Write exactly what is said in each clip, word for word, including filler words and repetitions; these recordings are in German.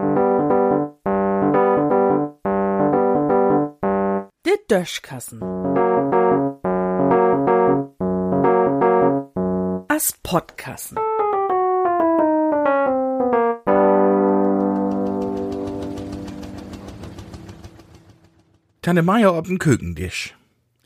De Döschkassen. As Podkassen. Tante Meier ob'n Kükendisch.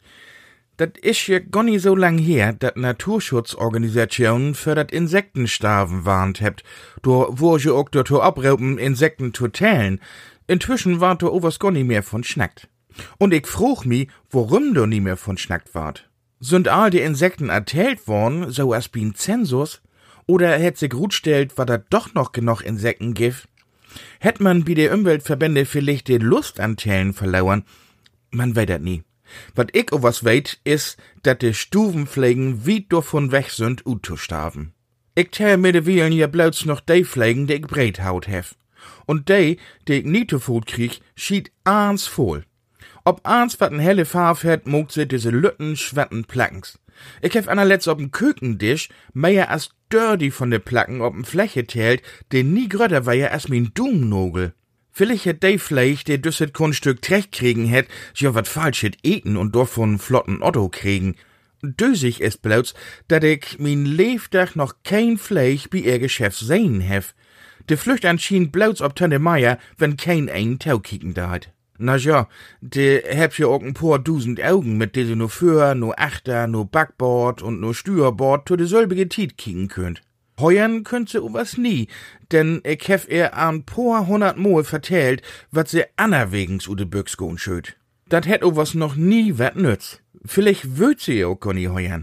Dat isch ja gar nie so lang her, dat Naturschutzorganisationen für dat Insektensterben warnt hebt, do wo je ook dazu abraupen, Insekten zu tellen. Inzwischen wart do overs gar nie mehr von schnackt. Und ich frug mi, warum do nie mehr von schnackt wart. Sind all die Insekten ertellt worden, so as bin Zensus? Oder hätt sich gut stellt, war da doch noch genug Insekten gibt? Hätt man bi de Umweltverbände vielleicht die Lust an Tellen verlauern? Man weet dat nie. Wat ich o was weet, is, dat de Stuvenpflegen weit davon weg sind, ut zu sterben. Ich tell mir de Wielen ja bloß noch de Pflegen, die ich breit haut hef. Und de, die ich nie zu Food krieg, schied aans voll. Ob aans wat n helle Farbe hat, mogt se diese lütten, schwetten Plackens. Ich hef anerletzt ob'n Kükendisch mehr as dirty von de Placken ob'n Fläche tält, den nie grötter war ja as min Dumnogel. Vielleicht hätt de Fleisch, der düsset Kunststück trecht kriegen hätt, ja wat falsch hätt eten und davon flotten Otto kriegen. Dösig ist bloß, dat ich min Lebtag noch kein Fleisch bi ihr Geschäft sehen hef. De Flücht anschien bloß ob Tante Meier, wenn kein ein Tau kicken da hat. Na ja, de heb ja auch ein paar dusend Augen, mit de se no Föhr, no Achter, no Backbord und no Steuerbord to de selbige Tiet kicken könnt. Heuern könnt se was nie, denn ich hef er an paar hundert Mal vertellt, wat se anerwegens u de Büchs go'n schöt. Dat hätt o was noch nie wat nütz. Vielleicht würd se auch gar nie heuern.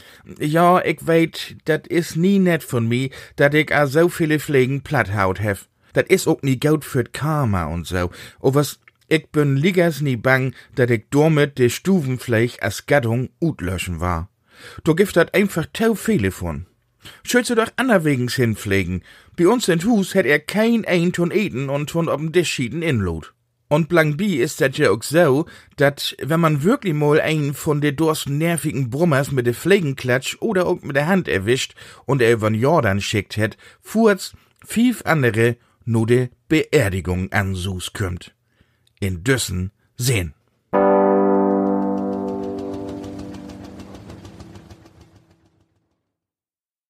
Ja, ich weet, dat is nie net von mi, dat ich a so viele Pflegen platthaut hef. Dat is auch nie gut für Karma und so. O was, ich bin liegers nie bang, dat ich damit de Stuvenfleisch as Gattung utlöschen war. Du gift dat einfach tau viele von. Schütze doch anerwegens hinpflegen. Bei uns in Hus hätt er kein ein ton eten und ton ob'n Tisch schieden inlot. Und blank bi ist dat ja auch so, dat, wenn man wirklich mal einen von de durst nervigen Brummers mit de Pflegenklatsch oder auch mit der Hand erwischt und er übern Jordan schickt hätt, fuhrt's fief andere no de Beerdigung an Sus kümmt. In Düssen sehen.